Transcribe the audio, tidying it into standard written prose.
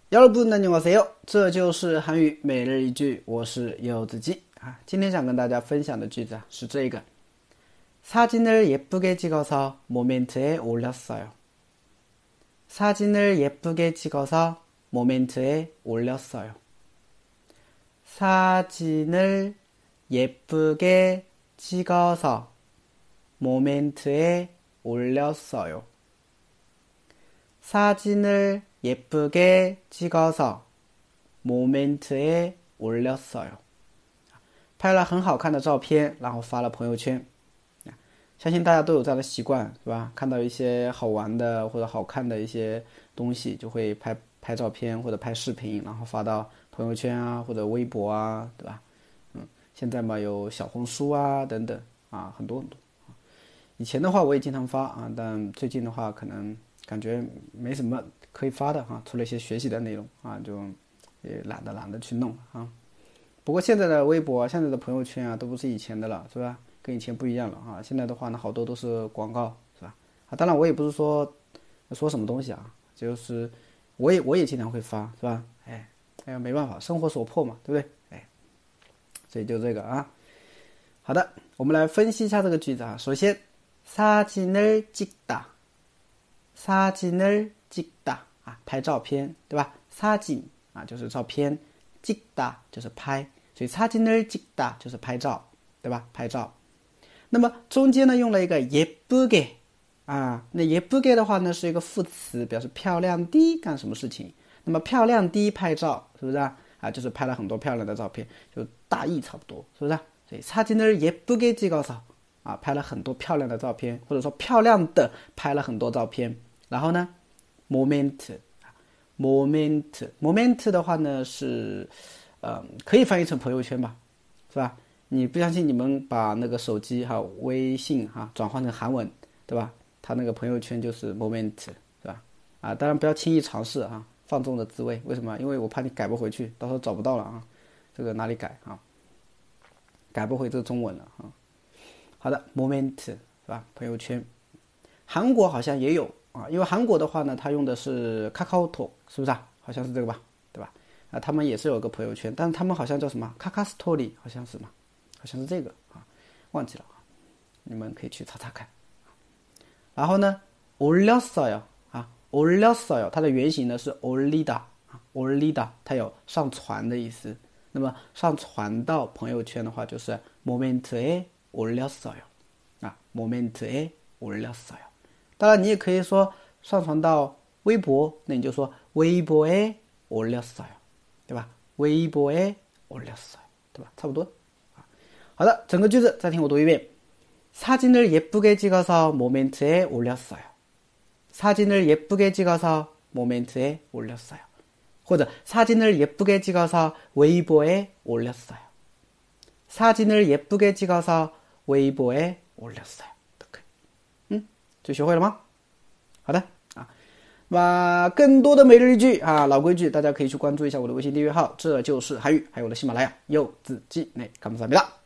여러분 안녕하세요. 这就是韩语每日一句，我是柚子鸡啊。今天想跟大家分享的句子是这个。사진을 예쁘게 찍어서 모멘트에 올렸어요. 사진을 예쁘게 찍어서 모멘트에 올렸어요. 사진을 예쁘게 찍어서 모멘트에 올렸어요. 사진을 예쁘게 찍어서 모멘트에 올렸어요. 拍了很好看的照片，然后发了朋友圈。相信大家都有这样的习惯，是吧？看到一些好玩的或者好看的一些东西，就会拍照片或者拍视频，然后发到朋友圈啊或者微博啊，对吧？现在嘛有小红书啊等等啊，很多很多。以前的话我也经常发啊，但最近的话可能感觉没什么可以发的哈，除了一些学习的内容啊，就也懒得去弄啊。不过现在的微博、现在的朋友圈啊，都不是以前的了，是吧？跟以前不一样了啊。现在的话呢，好多都是广告，是吧？啊，当然我也不是说什么东西啊，就是我也经常会发，是吧？没办法，生活所迫嘛，对不对？所以就这个啊。好的，我们来分析一下这个句子啊。首先，사진을 찍다，사진을 찍다啊，拍照片，对吧？사진啊就是照片，찍다就是拍，所以사진을 찍다就是拍照，对吧？拍照。那么中间呢用了一个예쁘게啊，那예쁘게的话呢是一个副词，表示漂亮的干什么事情。那么漂亮的拍照是不是啊？就是拍了很多漂亮的照片，就大意差不多，是不是啊？所以사진을 예쁘게 찍어서啊，拍了很多漂亮的照片，或者说漂亮的拍了很多照片。然后呢 moment 的话呢是可以翻译成朋友圈吧，是吧？你不相信你们把那个手机哈微信哈转换成韩文，对吧？它那个朋友圈就是 moment， 是吧？啊，当然不要轻易尝试啊，放纵的滋味。为什么？因为我怕你改不回去，到时候找不到了啊，这个哪里改啊？改不回这个中文了啊。好的 moment 是吧？朋友圈，韩国好像也有啊，因为韩国的话呢，它用的是 KakaoTalk， 是不是啊？好像是这个吧，对吧？啊，他们也是有个朋友圈，但是他们好像叫什么 Kakastory， 好像是嘛，好像是这个啊，忘记了啊，你们可以去查查看。然后呢 올렸어요啊 올렸어요 它的原型呢是 올리다啊 올리다 它有上传的意思。那么上传到朋友圈的话就是 모멘트에 올렸어요啊 모멘트에 올렸어요。 当然你也可以说上传到微博，那你就说 wei보에 올렸어요， 对吧？ wei보에 올렸어요， 对吧？差不多。好的，整个句子再听我读一遍。사진을 예쁘게 찍어서 모멘트에 올렸어요. 사진을 예쁘게 찍어서 모멘트에 올렸어요. 或者 사진을 예쁘게 찍어서 웨이보에 올렸어요. 사진을 예쁘게 찍어서 웨이보에 올렸어요. 都可以。就学会了吗？好的啊，那更多的每日一句啊，老规矩，大家可以去关注一下我的微信订阅号，这就是韩语，还有我的喜马拉雅柚子鸡内감사합니다。